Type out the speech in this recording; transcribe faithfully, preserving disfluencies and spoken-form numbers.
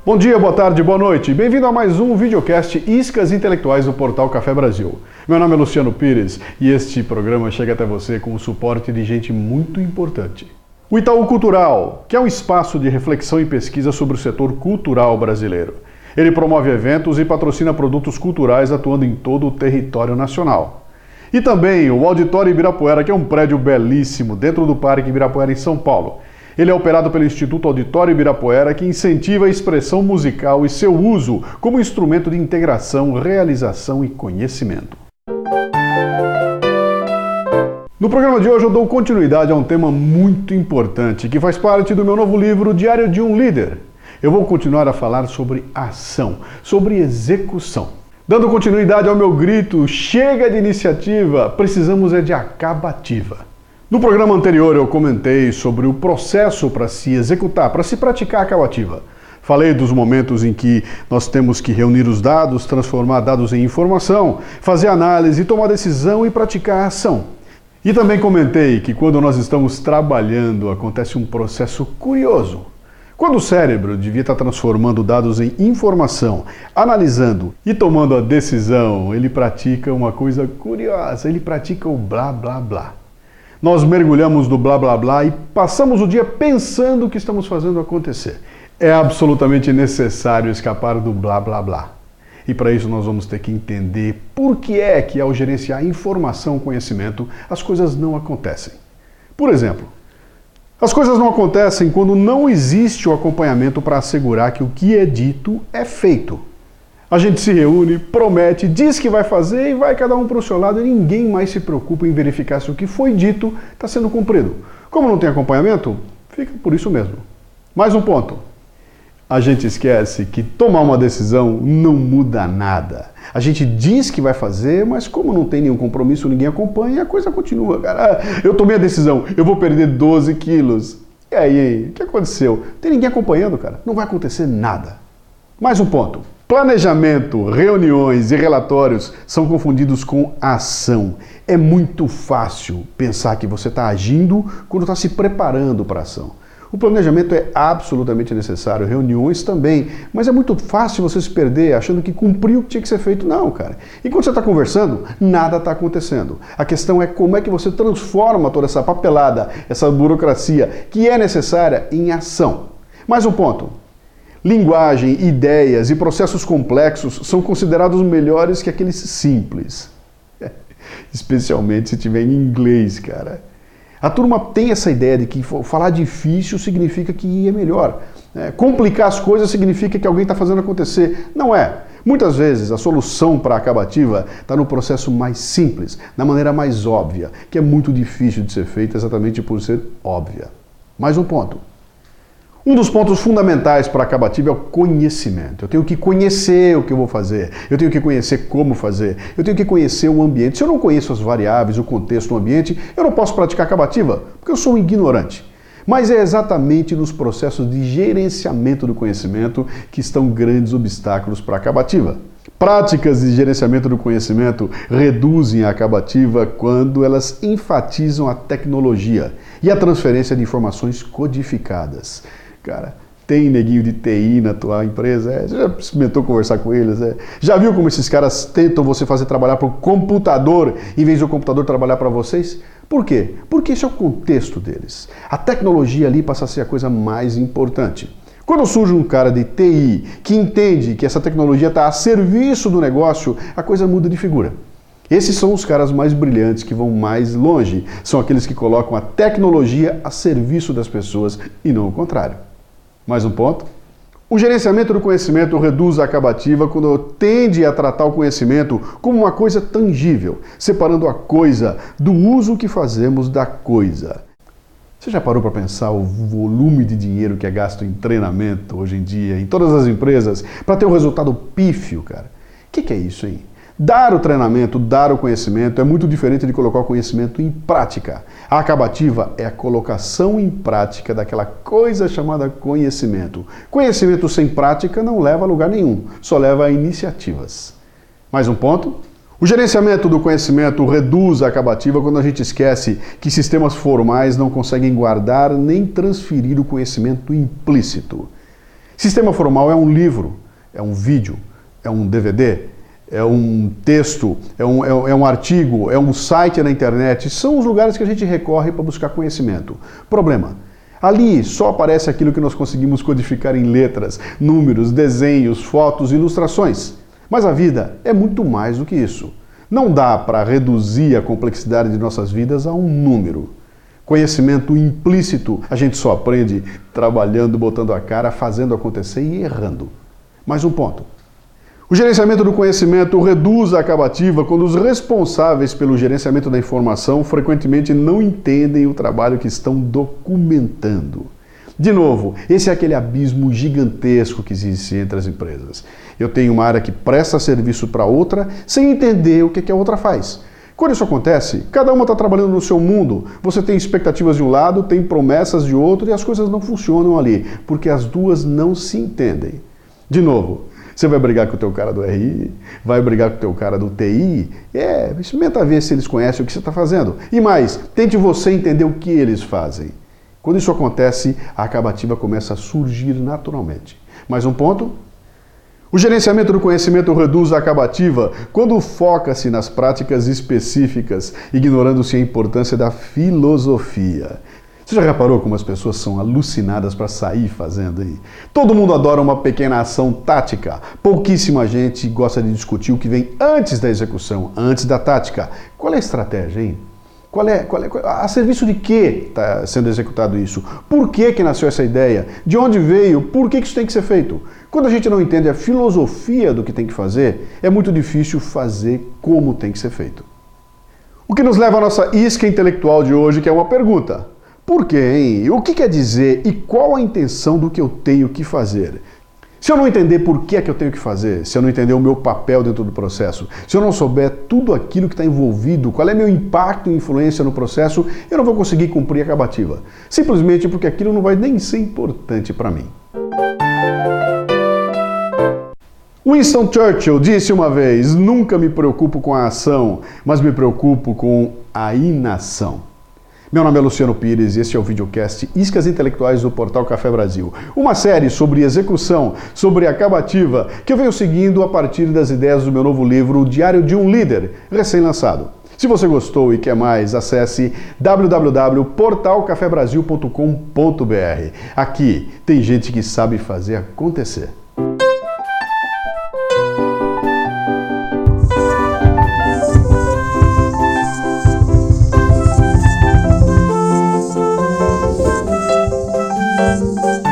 Bom dia, boa tarde, boa noite. Bem-vindo a mais um videocast Iscas Intelectuais do Portal Café Brasil. Meu nome é Luciano Pires e este programa chega até você com o suporte de gente muito importante. O Itaú Cultural, que é um espaço de reflexão e pesquisa sobre o setor cultural brasileiro. Ele promove eventos e patrocina produtos culturais atuando em todo o território nacional. E também o Auditório Ibirapuera, que é um prédio belíssimo dentro do Parque Ibirapuera em São Paulo. Ele é operado pelo Instituto Auditório Ibirapuera, que incentiva a expressão musical e seu uso como instrumento de integração, realização e conhecimento. No programa de hoje eu dou continuidade a um tema muito importante, que faz parte do meu novo livro Diário de um Líder. Eu vou continuar a falar sobre ação, sobre execução. Dando continuidade ao meu grito, chega de iniciativa, precisamos é de acabativa. No programa anterior eu comentei sobre o processo para se executar, para se praticar a acabativa. Falei dos momentos em que nós temos que reunir os dados, transformar dados em informação, fazer análise, tomar decisão e praticar a ação. E também comentei que quando nós estamos trabalhando acontece um processo curioso. Quando o cérebro devia estar transformando dados em informação, analisando e tomando a decisão, ele pratica uma coisa curiosa, ele pratica o blá blá blá. Nós mergulhamos no blá blá blá e passamos o dia pensando o que estamos fazendo acontecer. É absolutamente necessário escapar do blá blá blá. E para isso nós vamos ter que entender por que é que ao gerenciar informação e conhecimento as coisas não acontecem. Por exemplo, as coisas não acontecem quando não existe o acompanhamento para assegurar que o que é dito é feito. A gente se reúne, promete, diz que vai fazer e vai cada um para o seu lado e ninguém mais se preocupa em verificar se o que foi dito está sendo cumprido. Como não tem acompanhamento, fica por isso mesmo. Mais um ponto. A gente esquece que tomar uma decisão não muda nada. A gente diz que vai fazer, mas como não tem nenhum compromisso, ninguém acompanha, a coisa continua. Cara, eu tomei a decisão, eu vou perder doze quilos. E aí, o que aconteceu? Não tem ninguém acompanhando, cara. Não vai acontecer nada. Mais um ponto. Planejamento, reuniões e relatórios são confundidos com ação. É muito fácil pensar que você está agindo quando está se preparando para a ação. O planejamento é absolutamente necessário, reuniões também, mas é muito fácil você se perder achando que cumpriu o que tinha que ser feito. Não, cara. E quando você está conversando, nada está acontecendo. A questão é como é que você transforma toda essa papelada, essa burocracia que é necessária em ação. Mais um ponto. Linguagem, ideias e processos complexos são considerados melhores que aqueles simples. Especialmente se tiver em inglês, cara. A turma tem essa ideia de que falar difícil significa que é melhor. É, complicar as coisas significa que alguém está fazendo acontecer. Não é. Muitas vezes a solução para a acabativa está no processo mais simples, na maneira mais óbvia, que é muito difícil de ser feita exatamente por ser óbvia. Mais um ponto. Um dos pontos fundamentais para a acabativa é o conhecimento. Eu tenho que conhecer o que eu vou fazer, eu tenho que conhecer como fazer, eu tenho que conhecer o ambiente. Se eu não conheço as variáveis, o contexto, o ambiente, eu não posso praticar acabativa, porque eu sou um ignorante. Mas é exatamente nos processos de gerenciamento do conhecimento que estão grandes obstáculos para a acabativa. Práticas de gerenciamento do conhecimento reduzem a acabativa quando elas enfatizam a tecnologia e a transferência de informações codificadas. Cara, tem neguinho de T I na tua empresa? É, você já experimentou conversar com eles? É? Já viu como esses caras tentam você fazer trabalhar para o computador em vez do computador trabalhar para vocês? Por quê? Porque esse é o contexto deles. A tecnologia ali passa a ser a coisa mais importante. Quando surge um cara de T I que entende que essa tecnologia está a serviço do negócio, a coisa muda de figura. Esses são os caras mais brilhantes, que vão mais longe. São aqueles que colocam a tecnologia a serviço das pessoas e não o contrário. Mais um ponto. O gerenciamento do conhecimento reduz a acabativa quando tende a tratar o conhecimento como uma coisa tangível, separando a coisa do uso que fazemos da coisa. Você já parou para pensar o volume de dinheiro que é gasto em treinamento hoje em dia, em todas as empresas, para ter um resultado pífio, cara? O que, que é isso, hein? Dar o treinamento, dar o conhecimento é muito diferente de colocar o conhecimento em prática. A acabativa é a colocação em prática daquela coisa chamada conhecimento. Conhecimento sem prática não leva a lugar nenhum, só leva a iniciativas. Mais um ponto. O gerenciamento do conhecimento reduz a acabativa quando a gente esquece que sistemas formais não conseguem guardar nem transferir o conhecimento implícito. Sistema formal é um livro, é um vídeo, é um D V D, é um texto, é um, é, é um artigo, é um site na internet. São os lugares que a gente recorre para buscar conhecimento. Problema: ali só aparece aquilo que nós conseguimos codificar em letras, números, desenhos, fotos, ilustrações. Mas a vida é muito mais do que isso. Não dá para reduzir a complexidade de nossas vidas a um número. Conhecimento implícito a gente só aprende trabalhando, botando a cara, fazendo acontecer e errando. Mais um ponto. O gerenciamento do conhecimento reduz a acabativa quando os responsáveis pelo gerenciamento da informação frequentemente não entendem o trabalho que estão documentando. De novo, esse é aquele abismo gigantesco que existe entre as empresas. Eu tenho uma área que presta serviço para outra sem entender o que a outra faz. Quando isso acontece, cada uma está trabalhando no seu mundo. Você tem expectativas de um lado, tem promessas de outro e as coisas não funcionam ali, porque as duas não se entendem. De novo, você vai brigar com o teu cara do R I, vai brigar com o teu cara do T I, é, experimenta ver se eles conhecem o que você está fazendo. E mais, tente você entender o que eles fazem. Quando isso acontece, a acabativa começa a surgir naturalmente. Mais um ponto. O gerenciamento do conhecimento reduz a acabativa quando foca-se nas práticas específicas, ignorando-se a importância da filosofia. Você já reparou como as pessoas são alucinadas para sair fazendo aí? Todo mundo adora uma pequena ação tática. Pouquíssima gente gosta de discutir o que vem antes da execução, antes da tática. Qual é a estratégia, hein? Qual é, qual é, a serviço de que está sendo executado isso? Por que que nasceu essa ideia? De onde veio? Por que que isso tem que ser feito? Quando a gente não entende a filosofia do que tem que fazer, é muito difícil fazer como tem que ser feito. O que nos leva à nossa isca intelectual de hoje, que é uma pergunta. Por quê, hein? O que quer dizer e qual a intenção do que eu tenho que fazer? Se eu não entender por que é que eu tenho que fazer, se eu não entender o meu papel dentro do processo, se eu não souber tudo aquilo que está envolvido, qual é meu impacto e influência no processo, eu não vou conseguir cumprir a acabativa. Simplesmente porque aquilo não vai nem ser importante para mim. Winston Churchill disse uma vez: nunca me preocupo com a ação, mas me preocupo com a inação. Meu nome é Luciano Pires e este é o videocast Iscas Intelectuais do Portal Café Brasil. Uma série sobre execução, sobre acabativa, que eu venho seguindo a partir das ideias do meu novo livro, O Diário de um Líder, recém-lançado. Se você gostou e quer mais, acesse w w w ponto portal café brasil ponto com ponto b r. Aqui tem gente que sabe fazer acontecer. Música